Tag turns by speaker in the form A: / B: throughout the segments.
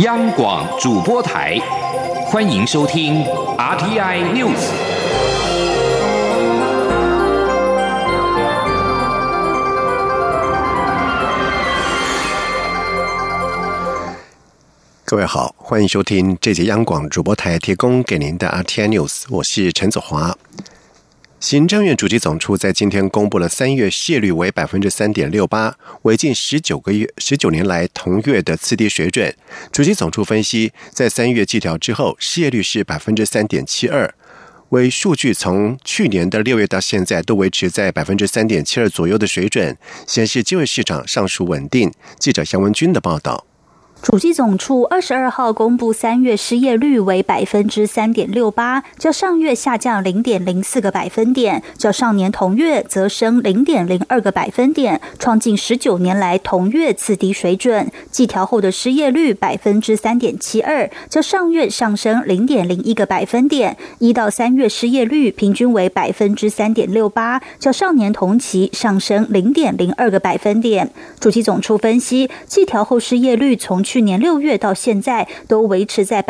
A: 央广主播台，欢迎收听 RTI News。
B: 各位好，欢迎收听这节央广主播台提供给您的 RTI News， 我是陈子华。行政院主计总处在今天公布了3月失业率为 3.68%， 为近19年来同月的次低水准。主计总处分析，在3月季调之后，失业率是 3.72%， 为数据从去年的6月到现在都维持在 3.72% 左右的水准，显示就业市场尚属稳定。记者杨文君的报道。
C: 主计总处22号公布3月失业率为 3.68%， 较上月下降 0.04 个百分点，较上年同月则升 0.02 个百分点，创近19年来同月次低水准。季调后的失业率 3.72%， 较上月上升 0.01 个百分点。1到3月失业率平均为 3.68%， 较上年同期上升 0.02 个百分点。主计总处分析，季调后失业率从去年6月到现在都维持在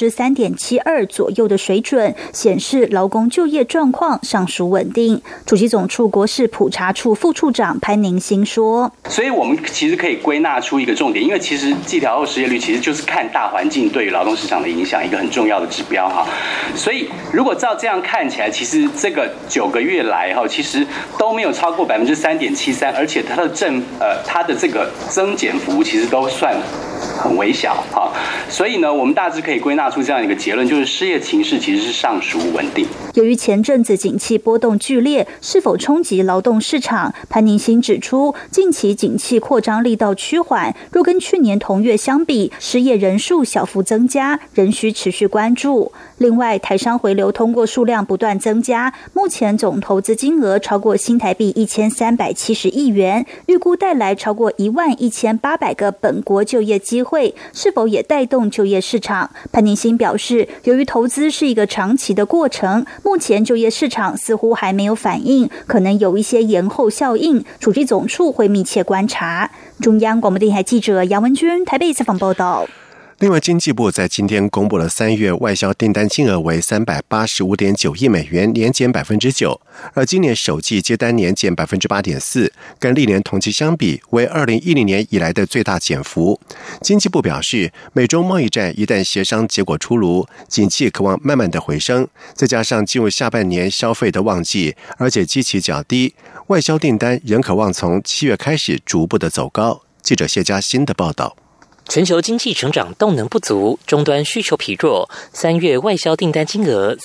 C: 3.72% 左右的水准，显示劳工就业状况尚属稳定。主计总处国事普查处副处长潘宁新说，
D: 所以我们其实可以归纳出一个重点，因为其实季调后失业率其实就是看大环境对于劳动市场的影响一个很重要的指标哈。所以如果照这样看起来，其实这个9个月来哈，其实都没有超过 3.73%， 而且它的这个增减幅其实都算很微小哈，所以呢，我们大致可以归纳出这样一个结论，就是失业情势其实是尚属稳定。
C: 由于前阵子景气波动剧烈，是否冲击劳动市场？潘宁新指出，近期景气扩张力道趋缓，若跟去年同月相比，失业人数小幅增加，仍需持续关注。另外，台商回流通过数量不断增加，目前总投资金额超过新台币1370亿元，预估带来超过11800个本国就业机会，是否也带动就业市场？潘宁新表示，由于投资是一个长期的过程，目前就业市场似乎还没有反应，可能有一些延后效应，主计总处会密切观察。中央广播电台记者杨文君台北采访报道。
B: 另外，经济部在今天公布了3月外销订单金额为 385.9 亿美元，年减 9%， 而今年首季接单年减 8.4%， 跟历年同期相比为2010年以来的最大减幅。经济部表示，美中贸易战一旦协商结果出炉，景气可望慢慢的回升，再加上进入下半年消费的旺季，而且基期较低，外销订单仍可望从7月开始逐步的走高。记者谢嘉欣的报道。
E: 全球经济成长动能不足，终端需求疲弱。3月外销订单金额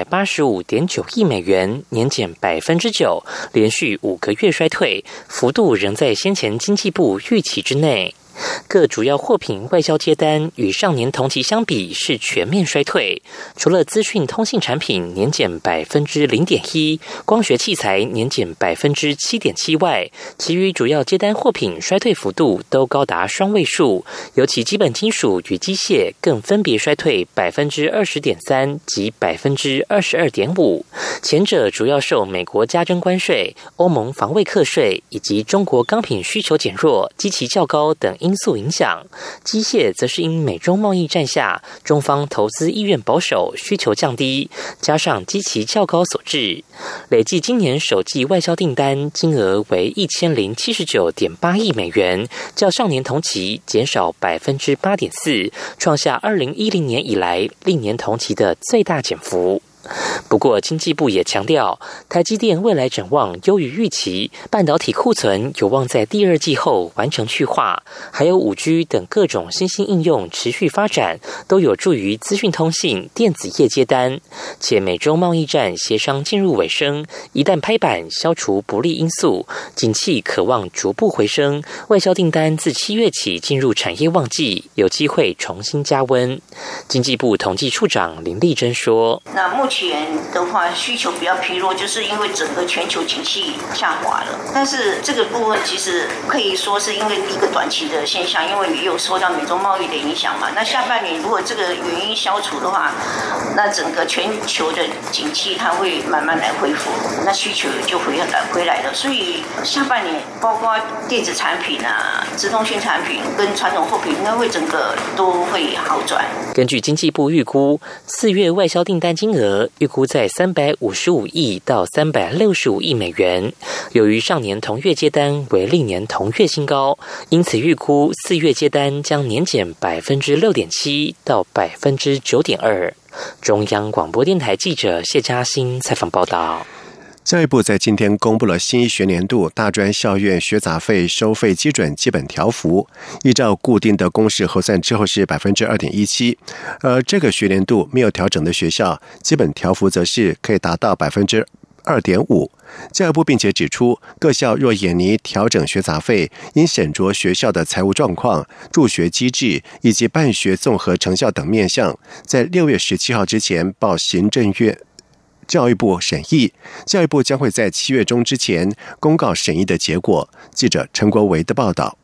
E: 385.9 亿美元，年减 9%， 连续5个月衰退，幅度仍在先前经济部预期之内。各主要货品外销接单与上年同期相比是全面衰退，除了资讯通信产品年减 0.1%， 光学器材年减 7.7% 外，其余主要接单货品衰退幅度都高达双位数，尤其基本金属与机械更分别衰退 20.3% 及 22.5%， 前者主要受美国加征关税、欧盟防卫课税以及中国钢品需求减弱、基期较高等因素影响，机械则是因美中贸易战下中方投资意愿保守，需求降低，加上基期较高所致。累计今年首季外销订单金额为 1079.8 亿美元，较上年同期减少 8.4%， 创下2010年以来历年同期的最大减幅。不过经济部也强调，台积电未来展望优于预期，半导体库存有望在第2季后完成去化，还有 5G 等各种新兴应用持续发展，都有助于资讯通信、电子业接单。且美中贸易战协商进入尾声，一旦拍板消除不利因素，景气可望逐步回升，外销订单自7月起进入产业旺季，有机会重新加温。经济部统计处长林丽珍说，
F: 那目前年的话需求比较疲弱，就是因为整个全球景气下滑了。但是这个部分其实可以说是因为一个短期的现象，因为也有受到美中贸易的影响嘛。那下半年如果这个原因消除的话，那整个全球的景气它会慢慢来恢复，那需求就回来了。所以下半年包括电子产品啊、自动性产品跟传统货品，应该会整个都会好转。
E: 根据经济部预估，4月外销订单金额预估在355亿到365亿美元。由于上年同月接单为历年同月新高，因此预估4月接单将年减6.7%到9.2%。中央广播电台记者谢嘉欣采访报道。
B: 教育部在今天公布了新一学年度大专校院学杂费收费基准基本条幅，依照固定的公式核算之后是 2.17%， 而这个学年度没有调整的学校，基本条幅则是可以达到 2.5%。教育部并且指出，各校若研拟调整学杂费，应审酌学校的财务状况、助学机制以及办学综合成效等面向，在6月17号之前报行政院教育部审议，教育部将会在7月中之前公告审议的结果。记者陈国维的报道。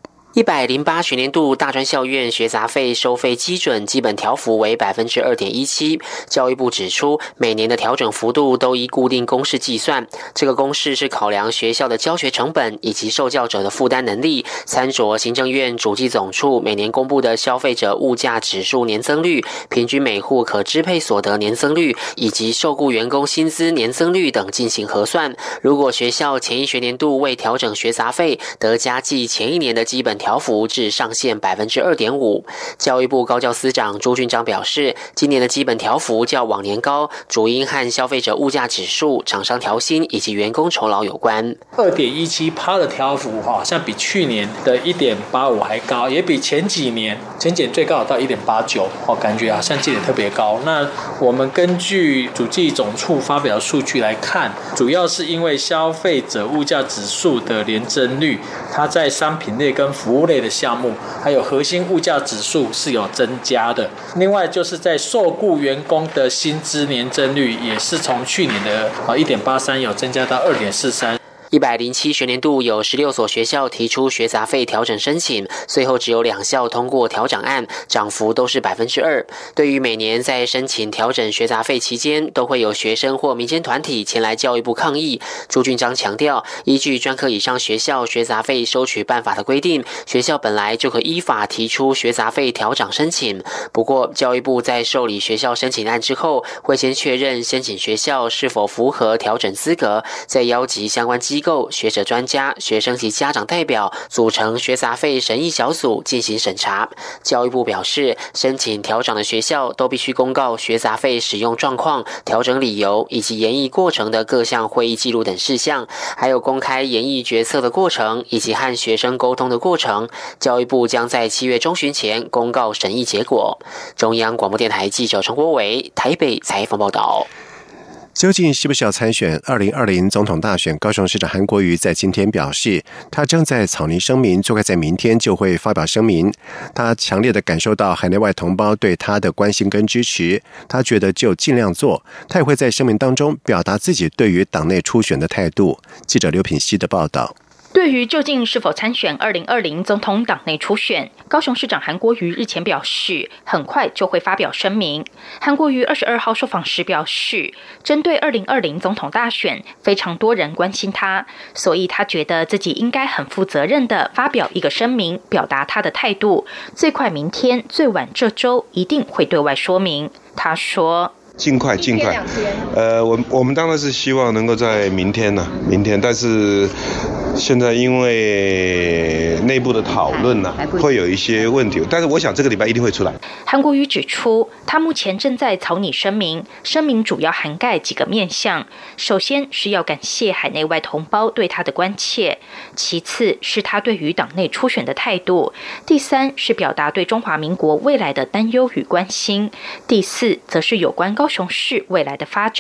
G: 108学年度大专校院学杂费收费基准基本条幅为 2.17%。教育部指出，每年的调整幅度都依固定公式计算，这个公式是考量学校的教学成本以及受教者的负担能力，参酌行政院主计总处每年公布的消费者物价指数年增率、平均每户可支配所得年增率以及受雇员工薪资年增率等进行核算。如果学校前一学年度未调整学杂费，得加计前一年的基本条幅至上限 2.5%。 教育部高教司长朱俊章表示，今年的基本条幅较往年高，主因和消费者物价指数、厂商调薪以及员工酬劳有关。
H: 2.17% 的条幅好像比去年的 1.85 还高，也比前几年前检最高到 1.89， 感觉好像记得特别高。那我们根据主计总处发表数据来看，主要是因为消费者物价指数的年增率，它在商品类跟服务类的项目，还有核心物价指数是有增加的。另外就是在受雇员工的薪资年增率，也是从去年的 1.83 有增加到 2.43。
G: 107学年度有16所学校提出学杂费调整申请，最后只有2校通过调整案，涨幅都是 2%。 对于每年在申请调整学杂费期间都会有学生或民间团体前来教育部抗议，朱俊章强调，依据专科以上学校学杂费收取办法的规定，学校本来就可依法提出学杂费调整申请。不过教育部在受理学校申请案之后，会先确认申请学校是否符合调整资格，再邀集相关机构、学者专家、学生及家长代表组成学杂费审议小组进行审查。教育部表示，申请调整的学校都必须公告学杂费使用状况、调整理由以及研议过程的各项会议记录等事项，还有公开研议决策的过程以及和学生沟通的过程。教育部将在7月中旬前公告审议结果。中央广播电台记者陈国维台北采访报道。
B: 究竟是不是要参选2020总统大选？高雄市长韩国瑜在今天表示，他正在草拟声明，最快在明天就会发表声明。他强烈的感受到海内外同胞对他的关心跟支持，他觉得就尽量做。他也会在声明当中表达自己对于党内初选的态度。记者刘品希的报道。
I: 对于究竟是否参选2020总统党内初选，高雄市长韩国瑜日前表示，很快就会发表声明。韩国瑜22号受访时表示，针对2020总统大选，非常多人关心他，所以他觉得自己应该很负责任地发表一个声明，表达他的态度。最快明天，最晚这周一定会对外说明。他说，
J: 尽快。我们当然是希望能够在明天，但是现在因为内部的讨论会有一些问题，但是我想这个礼拜一定会出来。
I: 韩国瑜指出，他目前正在草拟声明，声明主要涵盖几个面向。首先是要感谢海内外同胞对他的关切，其次是他对于党内初选的态度，第三是表达对中华民国未来的担忧与关心，第四则是有关高雄市未来的发展。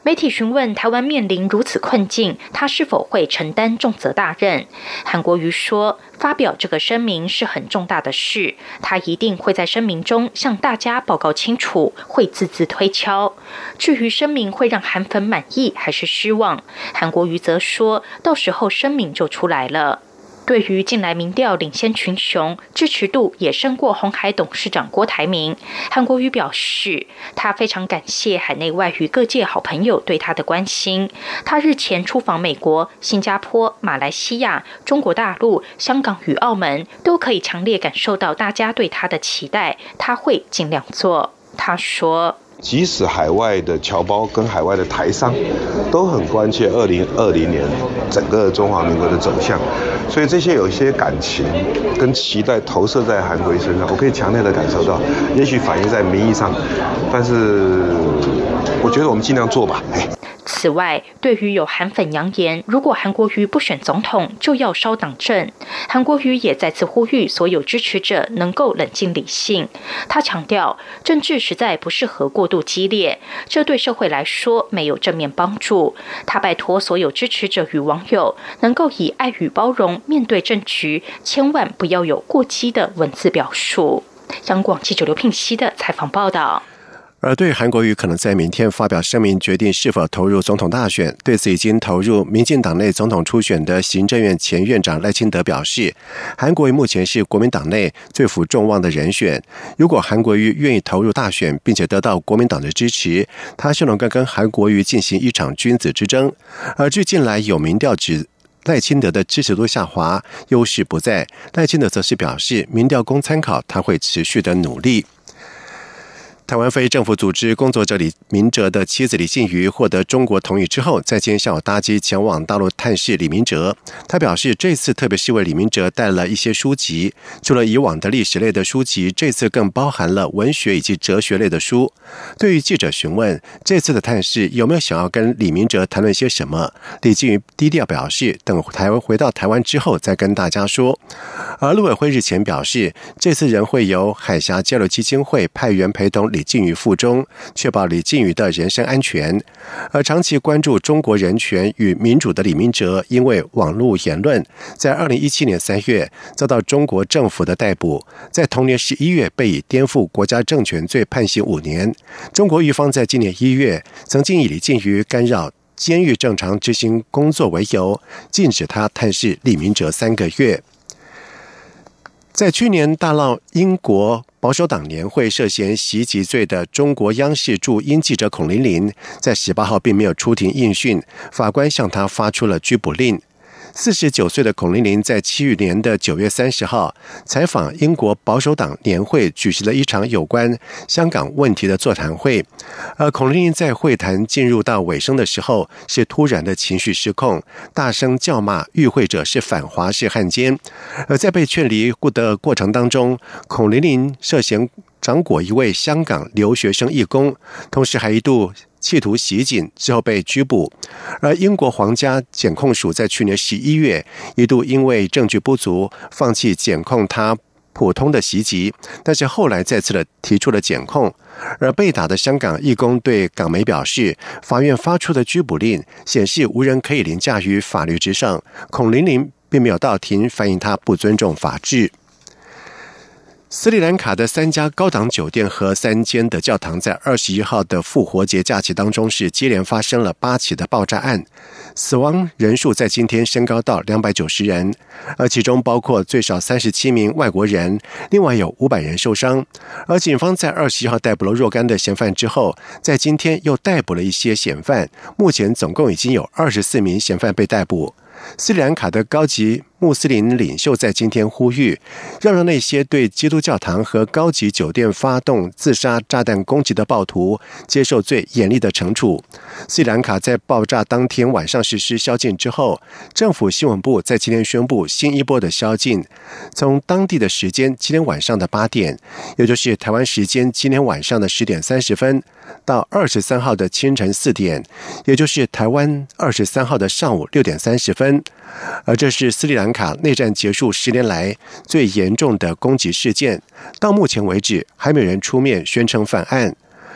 I: 媒体询问台湾面临如此困境，他是否会承担重责大任？韩国瑜说，发表这个声明是很重大的事，他一定会在声明中向大家报告清楚，会字字推敲。至于声明会让韩粉满意还是失望，韩国瑜则说，到时候声明就出来了。对于近来民调领先群雄，支持度也胜过鸿海董事长郭台铭，韩国瑜表示，他非常感谢海内外与各界好朋友对他的关心。他日前出访美国、新加坡、马来西亚、中国大陆、香港与澳门，都可以强烈感受到大家对他的期待，他会尽量做。他说，
J: 即使海外的侨胞跟海外的台商都很关切2020年整个中华民国的走向，所以这些有一些感情跟期待投射在韩国瑜身上，我可以强烈的感受到，也许反映在民意上，但是我觉得我们尽量做吧。
I: 此外，对于有韩粉扬言，如果韩国瑜不选总统，就要烧党政，韩国瑜也再次呼吁所有支持者能够冷静理性。他强调，政治实在不适合过度激烈，这对社会来说没有正面帮助。他拜托所有支持者与网友，能够以爱与包容面对政局，千万不要有过激的文字表述。央广记者刘聘熙的采访报道。
B: 而对韩国瑜可能在明天发表声明决定是否投入总统大选，对此已经投入民进党内总统初选的行政院前院长赖清德表示，韩国瑜目前是国民党内最负众望的人选，如果韩国瑜愿意投入大选并且得到国民党的支持，他就能够跟韩国瑜进行一场君子之争。而据近来有民调指赖清德的支持度下滑，优势不在，赖清德则是表示民调供参考，他会持续的努力。台湾非政府组织工作者李明哲的妻子李静瑜获得中国同意之后，在今天下午搭机前往大陆探视李明哲。他表示，这次特别是为李明哲带了一些书籍，除了以往的历史类的书籍，这次更包含了文学以及哲学类的书。对于记者询问这次的探视有没有想要跟李明哲谈论些什么，李静瑜低调表示，等回到台湾之后再跟大家说。而陆委会日前表示，这次仍会由海峡交流基金会派员陪同李静瑜赴中，确保李静瑜的人身安全。而长期关注中国人权与民主的李明哲，因为网络言论，在2017年3月遭到中国政府的逮捕，在同年11月被以颠覆国家政权罪判刑5年。中国狱方在今年1月曾经以李静瑜干扰监狱正常执行工作为由，禁止他探视李明哲3个月。在去年大闹英国保守党年会涉嫌袭击罪的中国央视驻英记者孔琳琳，在18号并没有出庭应讯，法官向他发出了拘捕令。49岁的孔琳琳在去年的9月30号采访英国保守党年会，举行了一场有关香港问题的座谈会。而孔琳琳在会谈进入到尾声的时候，是突然的情绪失控，大声叫骂与会者是反华式汉奸。而在被劝离的过程当中，孔琳琳涉嫌掌掴一位香港留学生义工，同时还一度企图袭警，之后被拘捕。而英国皇家检控署在去年11月一度因为证据不足，放弃检控他普通的袭击，但是后来再次的提出了检控。而被打的香港义工对港媒表示，法院发出的拘捕令显示无人可以凌驾于法律之上，孔琳琳并没有到庭反映他不尊重法治。斯里兰卡的3家高档酒店和3间的教堂在21号的复活节假期当中是接连发生了8起的爆炸案，死亡人数在今天升高到290人，而其中包括最少37名外国人，另外有500人受伤。而警方在21号逮捕了若干的嫌犯之后，在今天又逮捕了一些嫌犯，目前总共已经有24名嫌犯被逮捕。斯里兰卡的高级穆斯林领袖在今天呼吁，让那些对基督教堂和高级酒店发动自杀炸弹攻击的暴徒接受最严厉的惩处。斯里兰卡在爆炸当天晚上实施宵禁之后，政府新闻部在今天宣布新一波的宵禁，从当地的时间今天晚上的8点，也就是台湾时间今天晚上的10点30分，到23号的清晨4点，也就是台湾23号的上午6点30分。而这是斯里兰卡内战结束10年来最严重的攻击事件，到目前为止还没有人出面宣称犯案。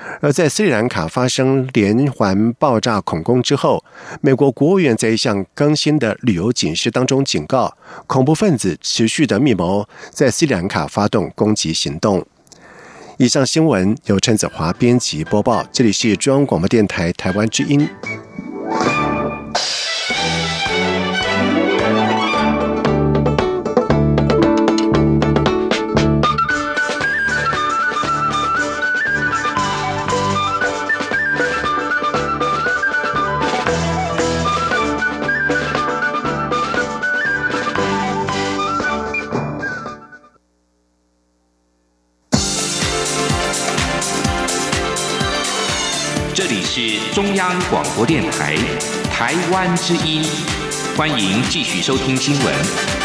B: 而在斯里兰卡发生连环爆炸恐攻之后，美国国务院在一项更新的旅游警示当中警告，恐怖分子持续的密谋在斯里兰卡发动攻击行动。以上新闻由陈子华编辑播报，这里是中央广播电台台湾之音。
A: 这里是中央广播电台台湾之音，欢迎继续收听新闻。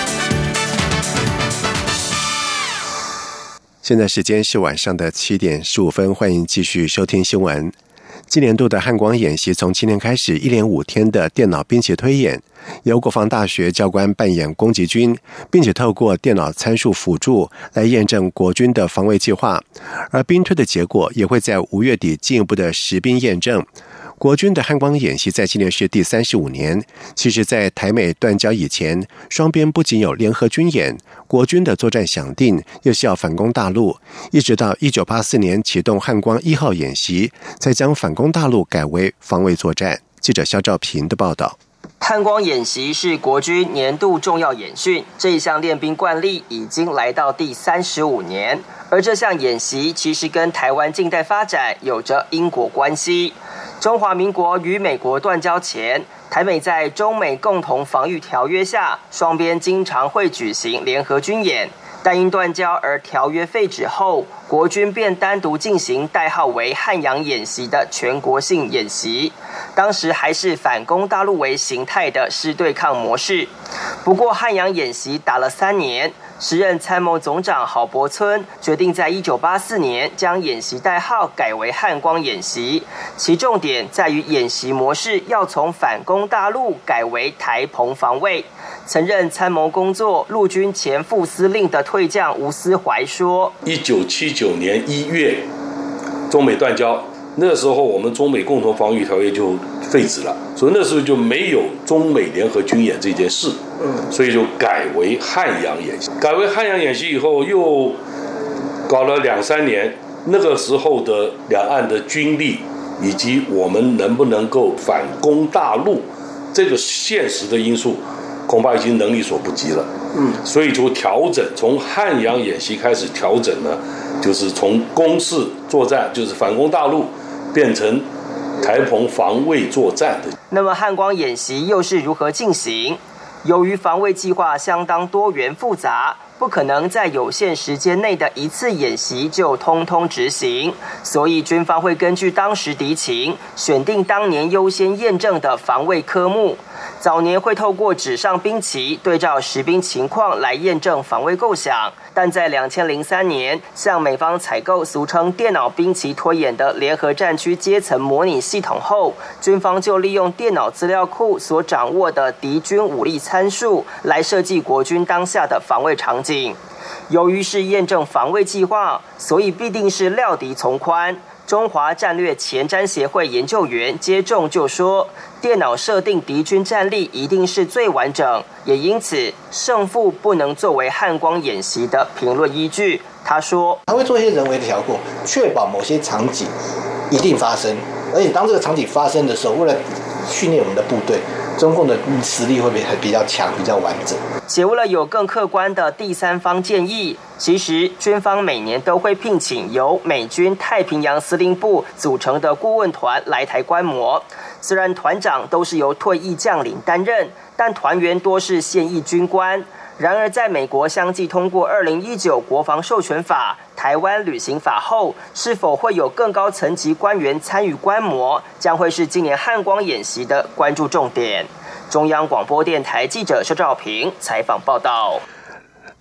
B: 现在时间是晚上的7点15分，欢迎继续收听新闻。今年度的汉光演习从今天开始，1连5天的电脑兵棋推演，由国防大学教官扮演攻击军，并且透过电脑参数辅助来验证国军的防卫计划，而兵推的结果也会在5月底进一步的实兵验证。国军的汉光演习在今年是第35年，其实在台美断交以前，双边不仅有联合军演，国军的作战想定又是要反攻大陆，一直到1984年启动汉光1号演习，才将反攻大陆改为防卫作战。记者肖兆平的报道。
K: 汉光演习是国军年度重要演训，这一项练兵惯例已经来到第35年，而这项演习其实跟台湾近代发展有着因果关系。中华民国与美国断交前，台美在中美共同防御条约下，双边经常会举行联合军演，但因断交而条约废止后，国军便单独进行代号为汉阳演习的全国性演习，当时还是反攻大陆为形态的师对抗模式。不过汉阳演习打了3年，时任参谋总长郝柏村决定在1984年将演习代号改为汉光演习，其重点在于演习模式要从反攻大陆改为台澎防卫。曾任参谋工作陆军前副司令的退将吴思怀说
L: ：1979年1月，中美断交，那时候我们中美共同防御条约就废止了，所以那时候就没有中美联合军演这件事，所以就改为汉阳演习。改为汉阳演习以后，又搞了2-3年，那个时候的两岸的军力以及我们能不能够反攻大陆，这个现实的因素恐怕已经能力所不及了。所以就调整，从汉阳演习开始调整呢，就是从攻势作战，就是反攻大陆，变成台澎防卫作战的。
K: 那么汉光演习又是如何进行？由于防卫计划相当多元复杂，不可能在有限时间内的一次演习就通通执行，所以军方会根据当时敌情，选定当年优先验证的防卫科目。早年会透过纸上兵棋对照实兵情况来验证防卫构想，但在2003年向美方采购俗称电脑兵棋推演的联合战区阶层模拟系统后，军方就利用电脑资料库所掌握的敌军武力参数来设计国军当下的防卫场景。由于是验证防卫计划，所以必定是料敌从宽。中华战略前瞻协会研究员接种就说，电脑设定敌军战力一定是最完整，也因此胜负不能作为汉光演习的评论依据。他说，
M: 他会做一些人为的调控，确保某些场景一定发生，而且当这个场景发生的时候，为了训练我们的部队，中共的实力会比较强，比较完整。
K: 且为了有更客观的第三方建议，其实军方每年都会聘请由美军太平洋司令部组成的顾问团来台观摩。虽然团长都是由退役将领担任，但团员多是现役军官。然而在美国相继通过2019国防授权法、台湾旅行法后，是否会有更高层级官员参与观摩，将会是今年汉光演习的关注重点。中央广播电台记者肖兆平采访报道。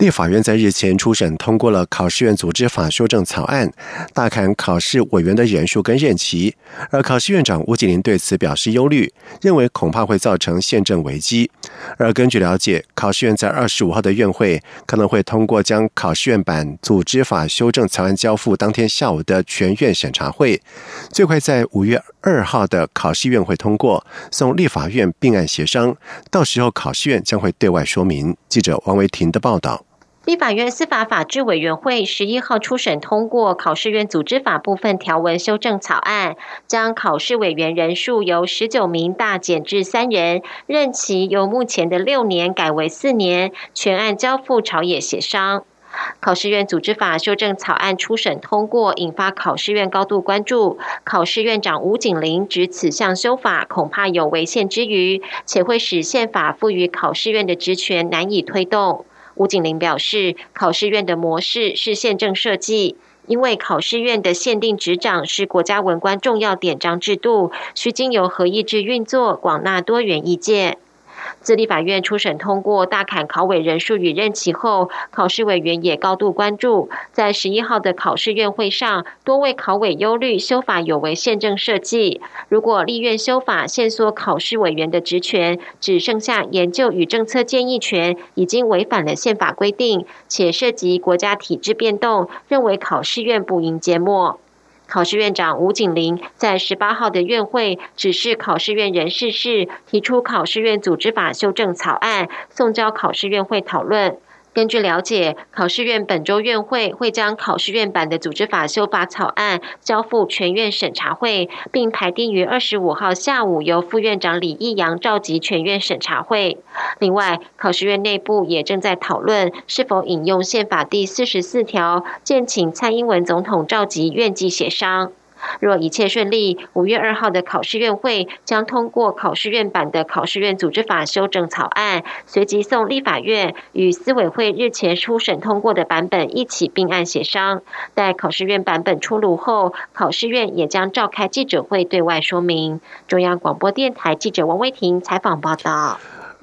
B: 立法院在日前初审通过了考试院组织法修正草案，大砍考试委员的人数跟任期，而考试院长吴景麟对此表示忧虑，认为恐怕会造成宪政危机。而根据了解，考试院在25号的院会可能会通过将考试院版组织法修正草案交付当天下午的全院审查会，最快在5月2号的考试院会通过，送立法院并案协商，到时候考试院将会对外说明。记者王维婷的报道。
N: 立法院司法法制委员会11号初审通过考试院组织法部分条文修正草案，将考试委员人数由19名大减至3人，任期由目前的6年改为4年，全案交付朝野协商。考试院组织法修正草案初审通过，引发考试院高度关注。考试院长吴景麟指此项修法恐怕有违宪之虞，且会使宪法赋予考试院的职权难以推动。吴景麟表示，考试院的模式是宪政设计，因为考试院的限定执掌是国家文官重要典章制度，需经由合议制运作，广纳多元意见。自立法院初审通过大砍考委人数与任期后，考试委员也高度关注。在11号的考试院会上，多位考委忧虑修法有违宪政设计。如果立院修法限缩考试委员的职权，只剩下研究与政策建议权，已经违反了宪法规定，且涉及国家体制变动，认为考试院不应缄默。考试院长吴景麟在18号的院会指示考试院人事室提出考试院组织法修正草案，送交考试院会讨论。根据了解，考试院本周院会会将考试院版的组织法修法草案交付全院审查会，并排定于25号下午由副院长李义阳召集全院审查会。另外，考试院内部也正在讨论是否引用宪法第44条，建请蔡英文总统召集院际协商。若一切顺利，5月2号的考试院会将通过考试院版的考试院组织法修正草案，随即送立法院与司委会日前初审通过的版本一起并案协商。待考试院版本出炉后，考试院也将召开记者会对外说明。中央广播电台记者王威婷采访报道。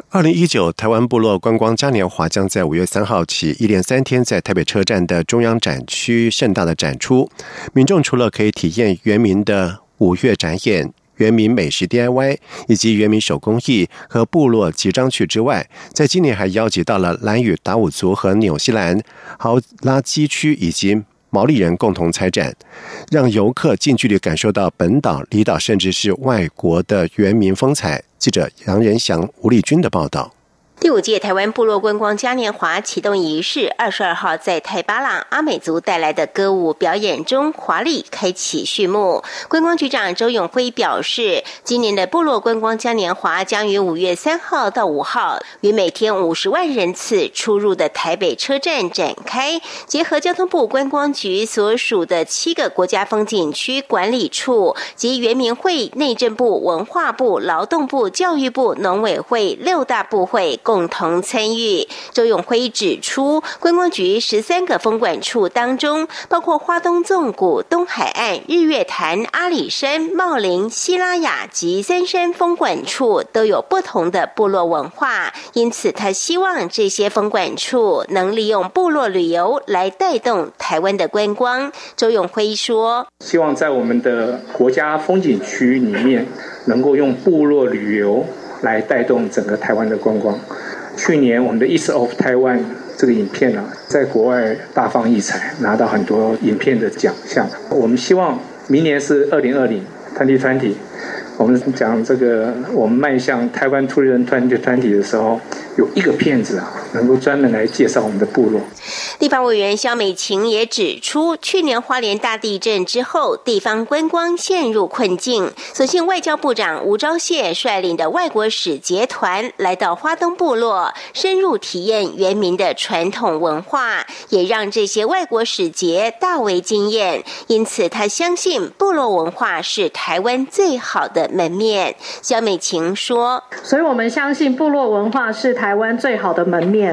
B: 2019台湾部落观光嘉年华将在5月3号起一连3天在台北车站的中央展区盛大的展出。民众除了可以体验原民的5月展演、原民美食 DIY 以及原民手工艺和部落集章趣之外，在今年还邀集到了兰屿达悟族和纽西兰豪拉基区以及毛利人共同参展，让游客近距离感受到本岛、离岛甚至是外国的原民风采。记者杨仁祥、吴丽君的报道。
N: 第5届台湾部落观光嘉年华启动仪式22号在泰巴朗阿美族带来的歌舞表演中华丽开启序幕。观光局长周永辉表示，今年的部落观光嘉年华将于5月3号到5号于每天50万人次出入的台北车站展开，结合交通部观光局所属的7个国家风景区管理处及原民会、内政部、文化部、劳动部、教育部、农委会6大部会共同参与。周永辉指出，观光局13个风管处当中，包括花东纵谷、东海岸、日月潭、阿里山、茂林、西拉雅及三山风管处都有不同的部落文化，因此他希望这些风管处能利用部落旅游来带动台湾的观光。周永辉说，
O: 希望在我们的国家风景区里面能够用部落旅游来带动整个台湾的观光。去年我们的 East of Taiwan 这个影片在国外大放异彩，拿到很多影片的奖项。我们希望明年是2020 2020， 我们讲这个我们迈向台湾Tourism 2020的时候，有一个片子能够专门来介绍我们的部落。
N: 地方委员萧美琴也指出，去年花莲大地震之后，地方观光陷入困境，所幸外交部长吴钊燮率领的外国使节团来到花东部落，深入体验原民的传统文化，也让这些外国使节大为惊艳。因此他相信部落文化是台湾最好的门面。萧美琴说，
P: 所以我们相信部落文化是台湾最好的门面，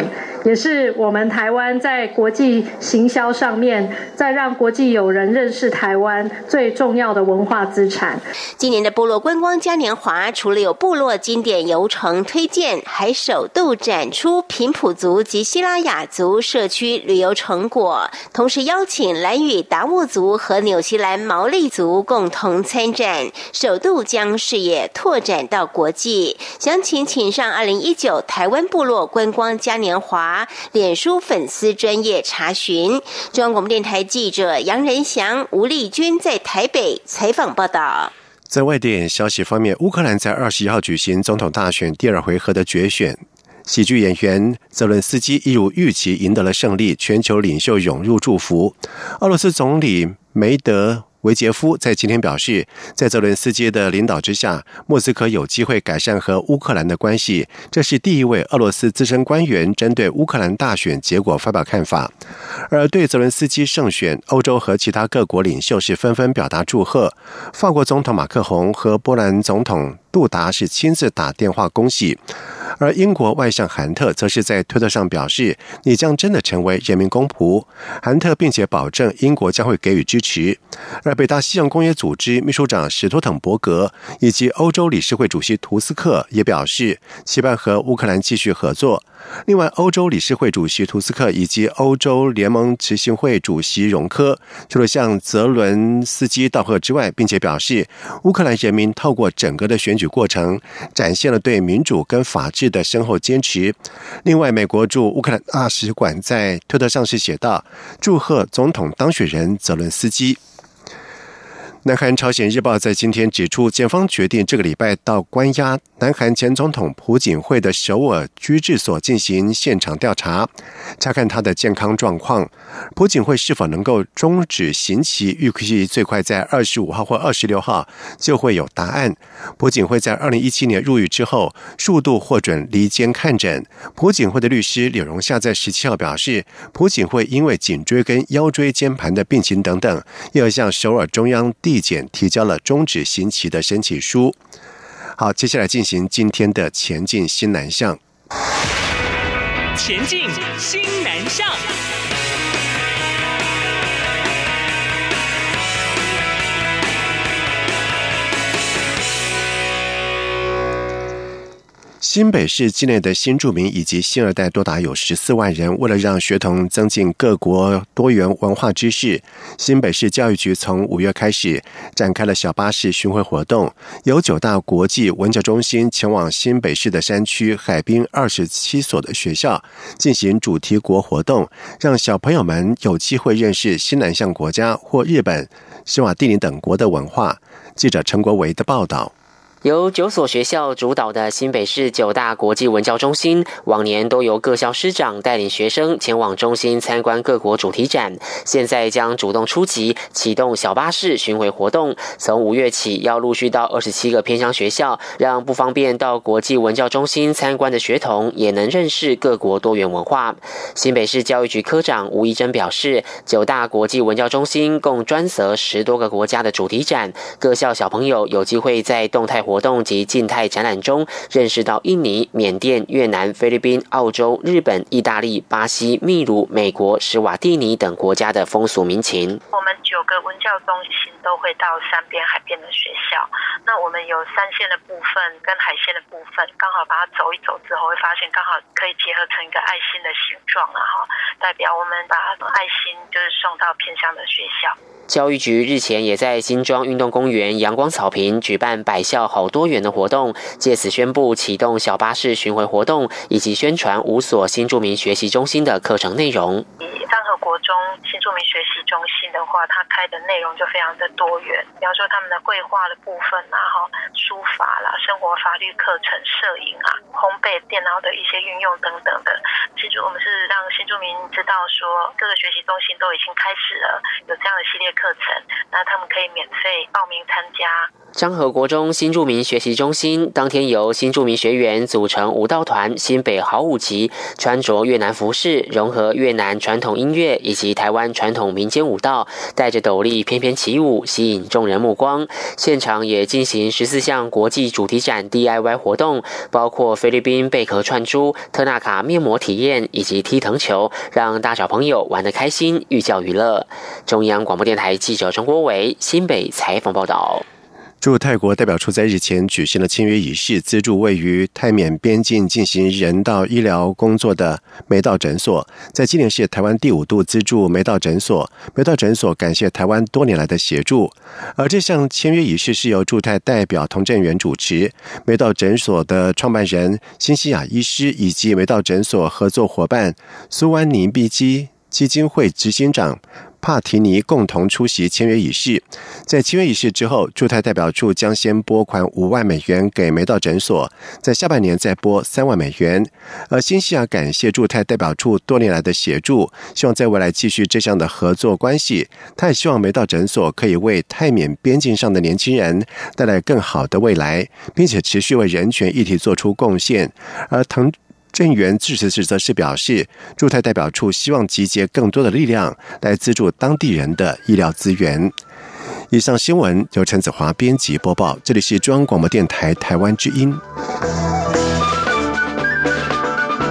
P: 也是我们台湾在国际行销上面，在让国际友人认识台湾最重要的文化资产。
N: 今年的部落观光嘉年华，除了有部落经典游程推荐，还首度展出平埔族及西拉雅族社区旅游成果，同时邀请兰屿达悟族和纽西兰毛利族共同参展，首度将视野拓展到国际。详情请上2019台湾部落观光嘉年华脸书粉丝专页查询。中央广播电台记者杨仁祥、吴丽君在台北采访报道。
B: 在外电消息方面，乌克兰在21号举行总统大选第2回合的决选，喜剧演员泽伦斯基一如预期赢得了胜利，全球领袖涌入祝福。俄罗斯总理梅德维杰夫在今天表示，在泽伦斯基的领导之下，莫斯科有机会改善和乌克兰的关系。这是第一位俄罗斯资深官员针对乌克兰大选结果发表看法。而对泽伦斯基胜选，欧洲和其他各国领袖是纷纷表达祝贺。法国总统马克宏和波兰总统杜达是亲自打电话恭喜。而英国外相韩特则是在推特上表示，你将真的成为人民公仆。韩特并且保证英国将会给予支持。而北大西洋公约组织秘书长史托滕伯格以及欧洲理事会主席图斯克也表示，期盼和乌克兰继续合作。另外，欧洲理事会主席图斯克以及欧洲联盟执行会主席容科除了向泽伦斯基道贺之外，并且表示，乌克兰人民透过整个的选举过程，展现了对民主跟法治的深厚坚持。另外，美国驻乌克兰大使馆在推特上是写道，祝贺总统当选人泽伦斯基。南韩朝鲜日报在今天指出，检方决定这个礼拜到关押南韩前总统朴槿惠的首尔居治所进行现场调查，查看他的健康状况。朴槿惠是否能够终止刑期，预计最快在25号或26号就会有答案。朴槿惠在2017年入狱之后，数度获准离监看诊。朴槿惠的律师柳荣夏在17号表示，朴槿惠因为颈椎跟腰椎间盘的病情等等，又向首尔中央地检提交了终止刑期的申请书。好，接下来进行今天的前进新南向。
Q: 前进新南向。
B: 新北市境内的新住民以及新二代多达有14万人，为了让学童增进各国多元文化知识，新北市教育局从5月开始展开了小巴士巡回活动，由9大国际文教中心前往新北市的山区海滨27所的学校进行主题国活动，让小朋友们有机会认识新南向国家或日本、史瓦蒂尼等国的文化。记者陈国维的报道。
G: 由9所学校主导的新北市9大国际文教中心，往年都由各校师长带领学生前往中心参观各国主题展，现在将主动出击，启动小巴士巡回活动。从5月起，要陆续到27个偏乡学校，让不方便到国际文教中心参观的学童也能认识各国多元文化。新北市教育局科长吴怡珍表示，9大国际文教中心共专责10多个国家的主题展，各校小朋友有机会在动态活动及静态展览中认识到印尼、缅甸、越南、菲律宾、澳洲、日本、意大利、巴西、秘鲁、美国、史瓦蒂尼等国家的风俗民情。
R: 我们9个文教中心都会到山边海边的学校，那我们有山线的部分跟海线的部分，刚好把它走一走之后，会发现刚好可以结合成一个爱心的形状啊，代表我们把爱心就是送到偏乡的学校。
G: 教育局日前也在新庄运动公园阳光草坪举办百校好多元的活动，借此宣布启动小巴士巡回活动，以及宣传5所新住民学习中心的课程内容。
R: 三和国中新住民学习中心的话，它开的内容就非常的多元，比方说他们的绘画的部分啊，书法啦、生活法律课程、摄影啊、烘焙、电脑的一些运用等等的。其实我们是让新住民知道说，各个学习中心都已经开始了有这样的系列课程，那他们可以免费报名参加。
G: 彰和国中新住民学习中心当天由新住民学员组成舞蹈团新北好舞集，穿着越南服饰，融合越南传统音乐以及台湾传统民间舞蹈，戴着斗笠翩翩起舞，吸引众人目光。现场也进行14项国际主题展 DIY 活动，包括菲律宾贝壳串珠、特纳卡面膜体验以及踢藤球，让大小朋友玩得开心，寓教于乐。中央广播电台记者陈国伟新北采访报道。
B: 驻泰国代表处在日前举行了签约仪式，资助位于泰缅边境进行人道医疗工作的梅道诊所。在今年是台湾第5度资助梅道诊所，梅道诊所感谢台湾多年来的协助。而这项签约仪式是由驻泰代表童振源主持，梅道诊所的创办人辛西亚医师以及梅道诊所合作伙伴苏湾尼碧基金会执行长帕提尼共同出席签约仪式。在签约仪式之后，驻泰代表处将先拨款5万美元给梅道诊所，在下半年再拨3万美元。而辛西亚感谢驻泰代表处多年来的协助，希望在未来继续这项的合作关系。他也希望梅道诊所可以为泰缅边境上的年轻人带来更好的未来，并且持续为人权议题做出贡献。而滕振源致辞时则是表示，驻泰代表处希望集结更多的力量来资助当地人的医疗资源。以上新闻由陈子华编辑播报，这里是中央广播电台台湾之音。